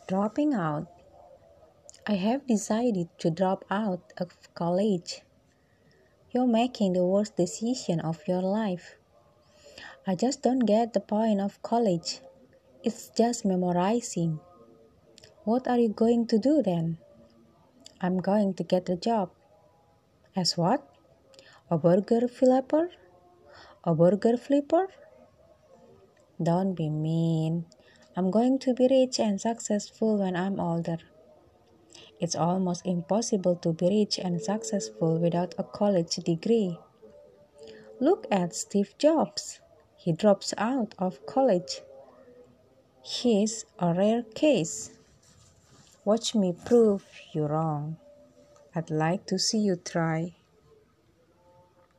Dropping out. I have decided to drop out of college. You're making the worst decision of your life. I just don't get the point of college. It's just memorizing. What are you going to do then? I'm going to get a job. As what? A burger flipper? A burger flipper? Don't be mean. I'm going to be rich and successful when I'm older. It's almost impossible to be rich and successful without a college degree. Look at Steve Jobs. He drops out of college. He's a rare case. Watch me prove you wrong. I'd like to see you try.